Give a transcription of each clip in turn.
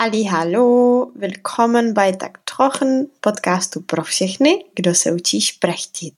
Hallo, willkommen bei Tak Trochen, podcastu pro všechny, kdo se učí šprechtit.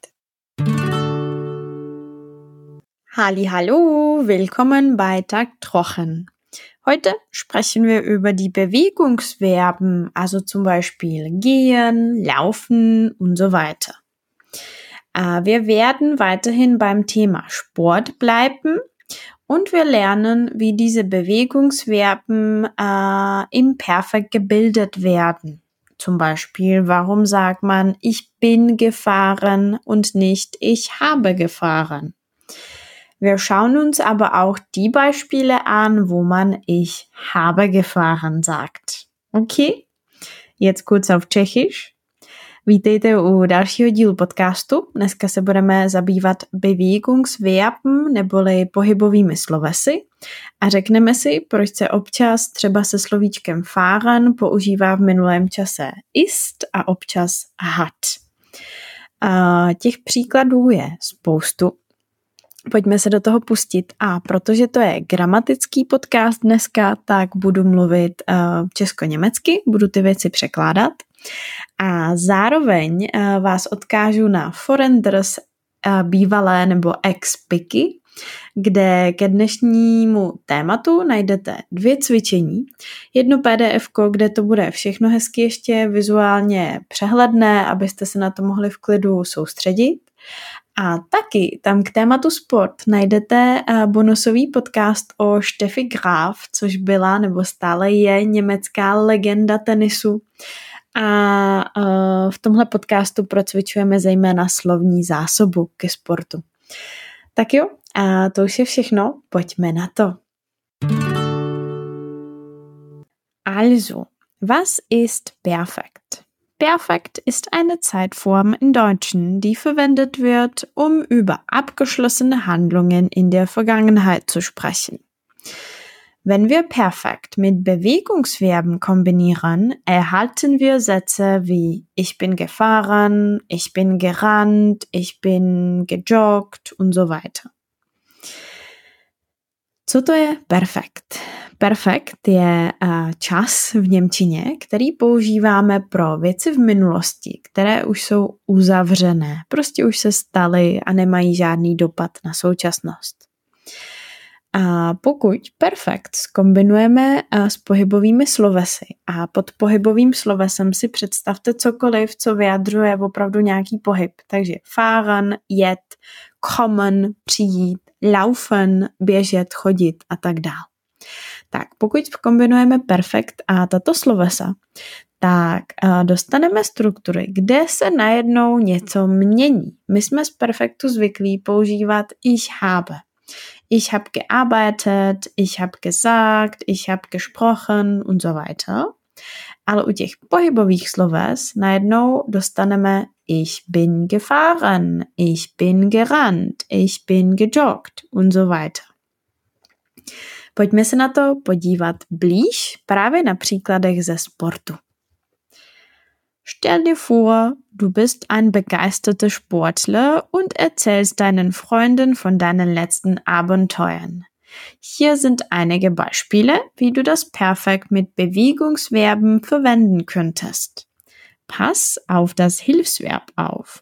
Hallo, willkommen bei Tak Trochen. Heute sprechen wir über die Bewegungsverben, also zum Beispiel gehen, laufen und so weiter. Wir werden weiterhin beim Thema Sport bleiben und wir lernen, wie diese Bewegungsverben im Perfekt gebildet werden. Zum Beispiel, warum sagt man, ich bin gefahren und nicht ich habe gefahren? Wir schauen uns aber auch die Beispiele an, wo man ich habe gefahren sagt. Okay? Jetzt kurz auf Tschechisch. Vítejte u dalšího dílu podcastu. Dneska se budeme zabývat bewegungsverben neboli pohybovými slovesy a řekneme si, proč se občas třeba se slovíčkem fahren používá v minulém čase ist a občas hat. Těch příkladů je spoustu. Pojďme se do toho pustit a protože to je gramatický podcast dneska, tak budu mluvit česko-německy, budu ty věci překládat a zároveň vás odkážu na Forenders bývalé nebo ex-piky, kde ke dnešnímu tématu najdete 2 cvičení. Jedno PDF-ko, kde to bude všechno hezky ještě vizuálně přehledné, abyste se na to mohli v klidu soustředit. A taky tam k tématu sport najdete bonusový podcast o Steffi Graf, což byla nebo stále je německá legenda tenisu. A v tomhle podcastu procvičujeme zejména slovní zásobu ke sportu. Tak jo, a to už je všechno, pojďme na to. Also, was ist perfekt? Perfekt ist eine Zeitform in Deutschen, die verwendet wird, um über abgeschlossene Handlungen in der Vergangenheit zu sprechen. Wenn wir perfekt mit Bewegungsverben kombinieren, erhalten wir Sätze wie ich bin gefahren, ich bin gerannt, ich bin gejoggt und so weiter. Co to je perfekt? Perfekt je čas v němčině, který používáme pro věci v minulosti, které už jsou uzavřené, prostě už se staly a nemají žádný dopad na současnost. A pokud perfekt zkombinujeme s pohybovými slovesy a pod pohybovým slovesem si představte cokoliv, co vyjadřuje opravdu nějaký pohyb. Takže fahren, jet, kommen, přijít, laufen, běžet, chodit a tak dál. Tak pokud kombinujeme perfekt a tato slovesa, tak dostaneme struktury, kde se najednou něco mění. My jsme z perfektu zvyklí používat ich habe. Ich habe gearbeitet, ich habe gesagt, ich habe gesprochen und so weiter. Ale u těch pohybových sloves najednou dostaneme ich bin gefahren, ich bin gerannt, ich bin gejoggt und so weiter. Pojďme se na to podívat blíž právě na příkladech ze sportu. Stell dir vor, du bist ein begeisterter Sportler und erzählst deinen Freunden von deinen letzten Abenteuern. Hier sind einige Beispiele, wie du das perfekt mit Bewegungsverben verwenden könntest. Pass auf das Hilfsverb auf.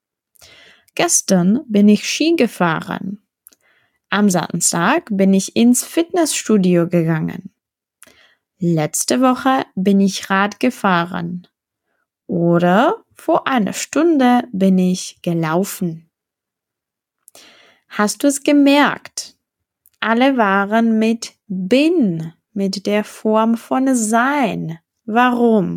Gestern bin ich Ski gefahren. Am Samstag bin ich ins Fitnessstudio gegangen. Letzte Woche bin ich Rad gefahren. Oder vor einer Stunde bin ich gelaufen. Hast du es gemerkt? Alle waren mit bin, mit der Form von sein. Warum?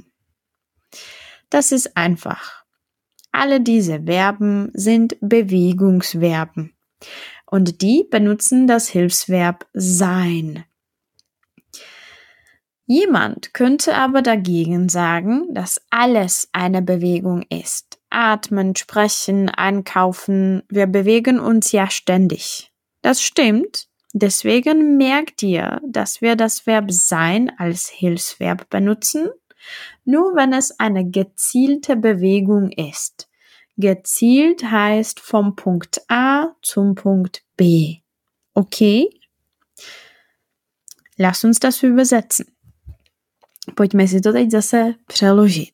Das ist einfach. Alle diese Verben sind Bewegungsverben. Und die benutzen das Hilfsverb sein. Jemand könnte aber dagegen sagen, dass alles eine Bewegung ist. Atmen, sprechen, einkaufen, wir bewegen uns ja ständig. Das stimmt, deswegen merkt ihr, dass wir das Verb sein als Hilfsverb benutzen, nur wenn es eine gezielte Bewegung ist. Gezielt heißt vom Punkt A zum Punkt B. Okay? Lass uns das übersetzen. Pojďme si to teď zase přeložit.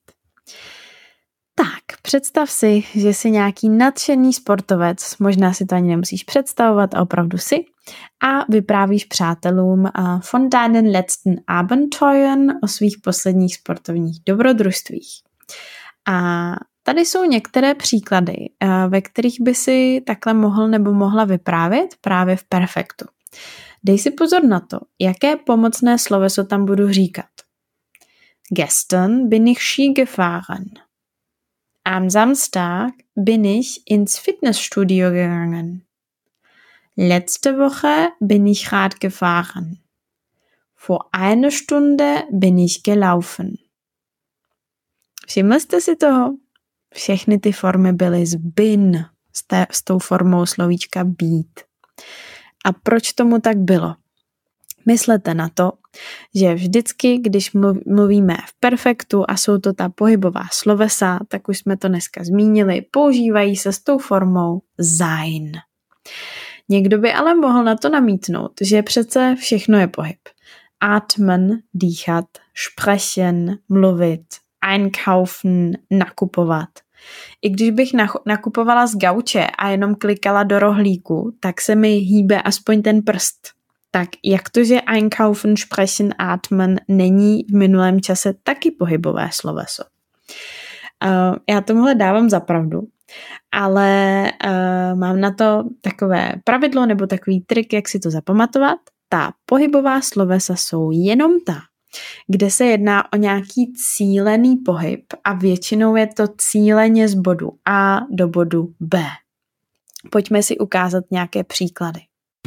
Tak, představ si, že jsi nějaký nadšený sportovec, možná si to ani nemusíš představovat, a opravdu si, a vyprávíš přátelům von deinen letzten Abenteuern, o svých posledních sportovních dobrodružstvích. A tady jsou některé příklady, ve kterých by si takhle mohl nebo mohla vyprávět právě v perfektu. Dej si pozor na to, jaké pomocné sloveso tam budu říkat. Gestern bin ich Ski gefahren. Am Samstag bin ich ins Fitnessstudio gegangen. Letzte Woche bin ich Rad gefahren. Vor einer Stunde bin ich gelaufen. Všimli jste si toho? Všechny ty formy byly z bin, s tou formou slovíčka být. A proč tomu tak bylo? Myslete na to, že vždycky, když mluvíme v perfektu a jsou to ta pohybová slovesa, tak už jsme to dneska zmínili, používají se s tou formou sein. Někdo by ale mohl na to namítnout, že přece všechno je pohyb. Atmen, dýchat, sprechen, mluvit, einkaufen, nakupovat. I když bych nakupovala z gauče a jenom klikala do rohlíku, tak se mi hýbe aspoň ten prst. Tak jak to, že einkaufen, sprechen, atmen není v minulém čase taky pohybové sloveso? Já tomuhle dávám za pravdu, ale mám na to takové pravidlo nebo takový trik, jak si to zapamatovat. Ta pohybová slovesa jsou jenom ta, kde se jedná o nějaký cílený pohyb a většinou je to cíleně z bodu A do bodu B. Pojďme si ukázat nějaké příklady.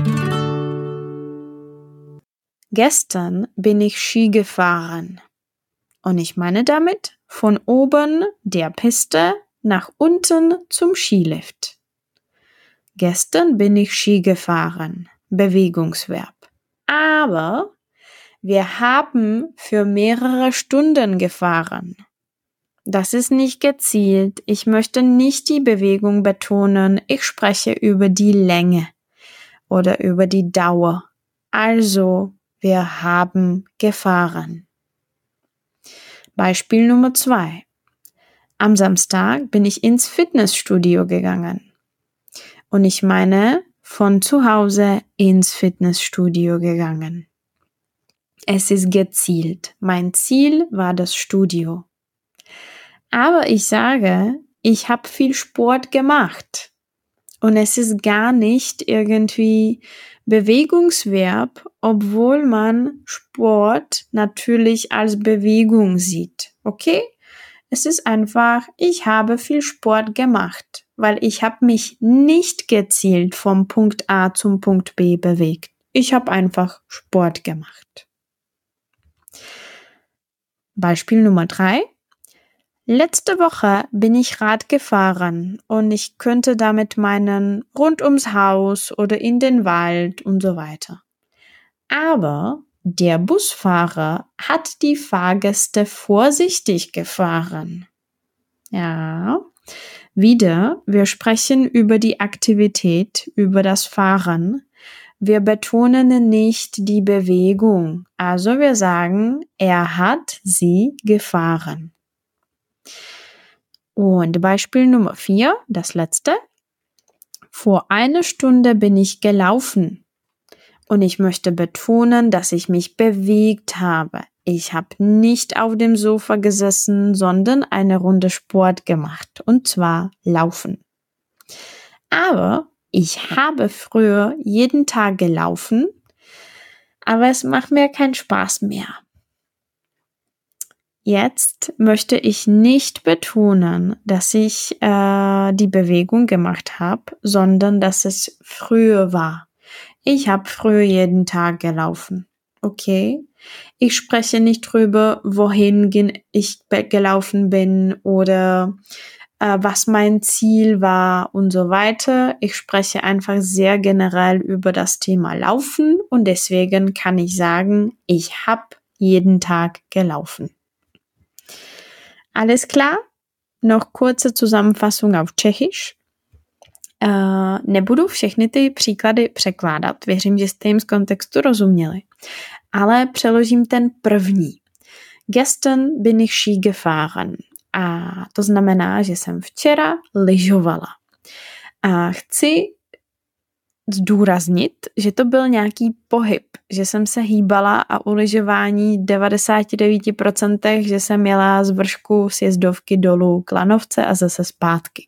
Gestern bin ich Ski gefahren. Und ich meine damit von oben der Piste nach unten zum Skilift. Gestern bin ich Ski gefahren. Bewegungsverb. Aber wir haben für mehrere Stunden gefahren. Das ist nicht gezielt. Ich möchte nicht die Bewegung betonen. Ich spreche über die Länge oder über die Dauer. Also, wir haben gefahren. Beispiel Nummer 2. Am Samstag bin ich ins Fitnessstudio gegangen. Und ich meine von zu Hause ins Fitnessstudio gegangen. Es ist gezielt. Mein Ziel war das Studio. Aber ich sage, ich habe viel Sport gemacht. Und es ist gar nicht irgendwie Bewegungsverb, obwohl man Sport natürlich als Bewegung sieht. Okay? Es ist einfach, ich habe viel Sport gemacht, weil ich habe mich nicht gezielt vom Punkt A zum Punkt B bewegt. Ich habe einfach Sport gemacht. Beispiel Nummer 3. Letzte Woche bin ich Rad gefahren und ich könnte damit meinen rund ums Haus oder in den Wald und so weiter. Aber der Busfahrer hat die Fahrgäste vorsichtig gefahren. Ja, wieder, wir sprechen über die Aktivität, über das Fahren. Wir betonen nicht die Bewegung. Also wir sagen, er hat sie gefahren. Und Beispiel Nummer 4, das letzte. Vor einer Stunde bin ich gelaufen. Und ich möchte betonen, dass ich mich bewegt habe. Ich habe nicht auf dem Sofa gesessen, sondern eine Runde Sport gemacht. Und zwar laufen. Aber ich habe früher jeden Tag gelaufen, aber es macht mir keinen Spaß mehr. Jetzt möchte ich nicht betonen, dass ich die Bewegung gemacht habe, sondern dass es früher war. Ich habe früher jeden Tag gelaufen. Okay? Ich spreche nicht drüber, wohin ich gelaufen bin oder was mein Ziel war und so weiter. Ich spreche einfach sehr generell über das Thema Laufen und deswegen kann ich sagen, ich habe jeden Tag gelaufen. Alles klar? Noch kurze Zusammenfassung auf Čechisch. Nebudu všechny ty příklady překládat, věřím, že jste jim z kontextu rozuměli, ale přeložím ten první, Gestern bin ich Ski gefahren. A to znamená, že jsem včera lyžovala. A chci zdůraznit, že to byl nějaký pohyb, že jsem se hýbala a u lyžování 99%, že jsem jela z vršku sjezdovky dolů k lanovce a zase zpátky.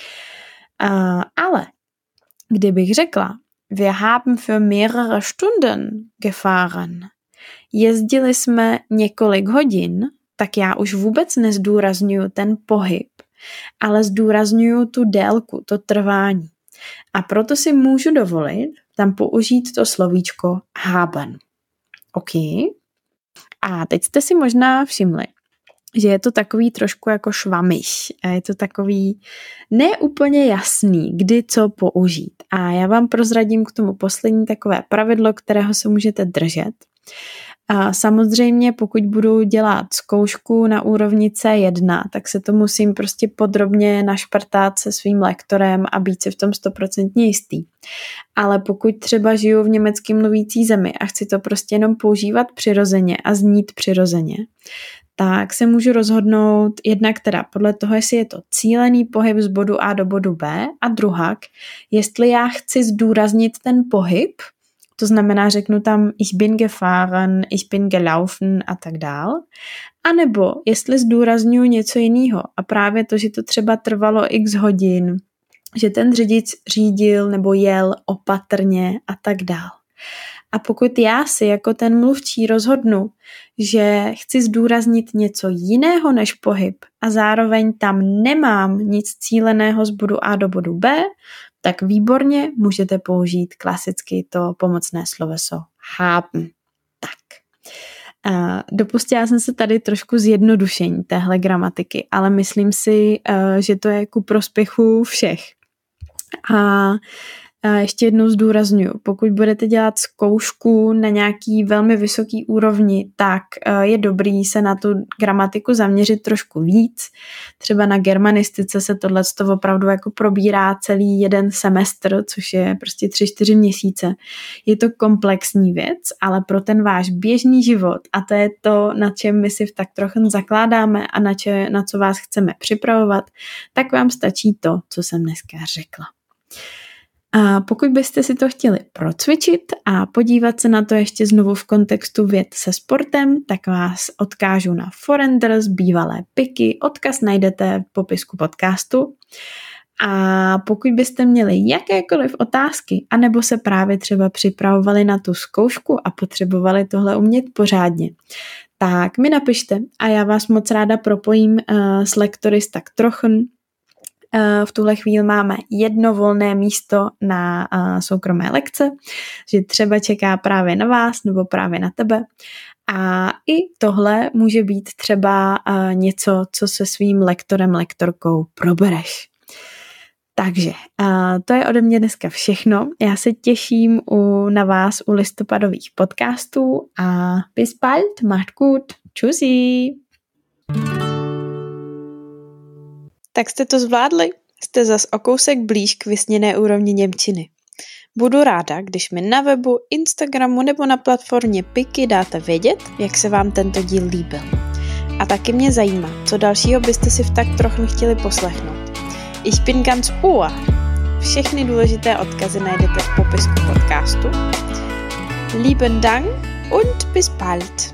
Ale kdybych řekla, wir haben für mehrere Stunden gefahren, jezdili jsme několik hodin, tak já už vůbec nezdůrazňuju ten pohyb, ale zdůrazňuju tu délku, to trvání. A proto si můžu dovolit tam použít to slovíčko haben. OK? A teď jste si možná všimli, že je to takový trošku jako švamiš. A je to takový neúplně jasný, kdy co použít. A já vám prozradím k tomu poslední takové pravidlo, kterého se můžete držet. A samozřejmě, pokud budu dělat zkoušku na úrovni C1, tak se to musím prostě podrobně našprtat se svým lektorem a být si v tom 100% jistý. Ale pokud třeba žiju v německy mluvící zemi a chci to prostě jenom používat přirozeně a znít přirozeně, tak se můžu rozhodnout jednak teda podle toho, jestli je to cílený pohyb z bodu A do bodu B a druhak, jestli já chci zdůraznit ten pohyb, to znamená, řeknu tam ich bin gefahren, ich bin gelaufen a tak dál. A nebo jestli zdůrazňuji něco jiného a právě to, že to třeba trvalo x hodin, že ten řidič řídil nebo jel opatrně a tak dál. A pokud já si jako ten mluvčí rozhodnu, že chci zdůraznit něco jiného než pohyb a zároveň tam nemám nic cíleného z bodu A do bodu B, tak výborně můžete použít klasicky to pomocné sloveso haben. Tak. Dopustila jsem se tady trošku zjednodušení téhle gramatiky, ale myslím si, že to je ku prospěchu všech. A ještě jednou zdůraznuju, pokud budete dělat zkoušku na nějaký velmi vysoký úrovni, tak je dobrý se na tu gramatiku zaměřit trošku víc. Třeba na germanistice se tohleto opravdu jako probírá celý jeden semestr, což je prostě 3-4 měsíce. Je to komplexní věc, ale pro ten váš běžný život, a to je to, na čem my si tak trochu zakládáme a na co vás chceme připravovat, tak vám stačí to, co jsem dneska řekla. A pokud byste si to chtěli procvičit a podívat se na to ještě znovu v kontextu věd se sportem, tak vás odkážu na Forenders, bývalé piky, odkaz najdete v popisku podcastu. A pokud byste měli jakékoliv otázky, anebo se právě třeba připravovali na tu zkoušku a potřebovali tohle umět pořádně, tak mi napište a já vás moc ráda propojím s lektory tak trochu. V tuhle chvíli máme jedno volné místo na soukromé lekce, že třeba čeká právě na vás nebo právě na tebe. A i tohle může být třeba něco, co se svým lektorem, lektorkou probereš. Takže to je ode mě dneska všechno. Já se těším na vás u listopadových podcastů a bis bald, macht gut, tschüssi. Tak jste to zvládli? Jste zas o kousek blíž k vysněné úrovni němčiny. Budu ráda, když mi na webu, Instagramu nebo na platformě Piky dáte vědět, jak se vám tento díl líbil. A taky mě zajímá, co dalšího byste si v tak trochu chtěli poslechnout. Ich bin ganz Ohr. Všechny důležité odkazy najdete v popisku podcastu. Lieben Dank und bis bald.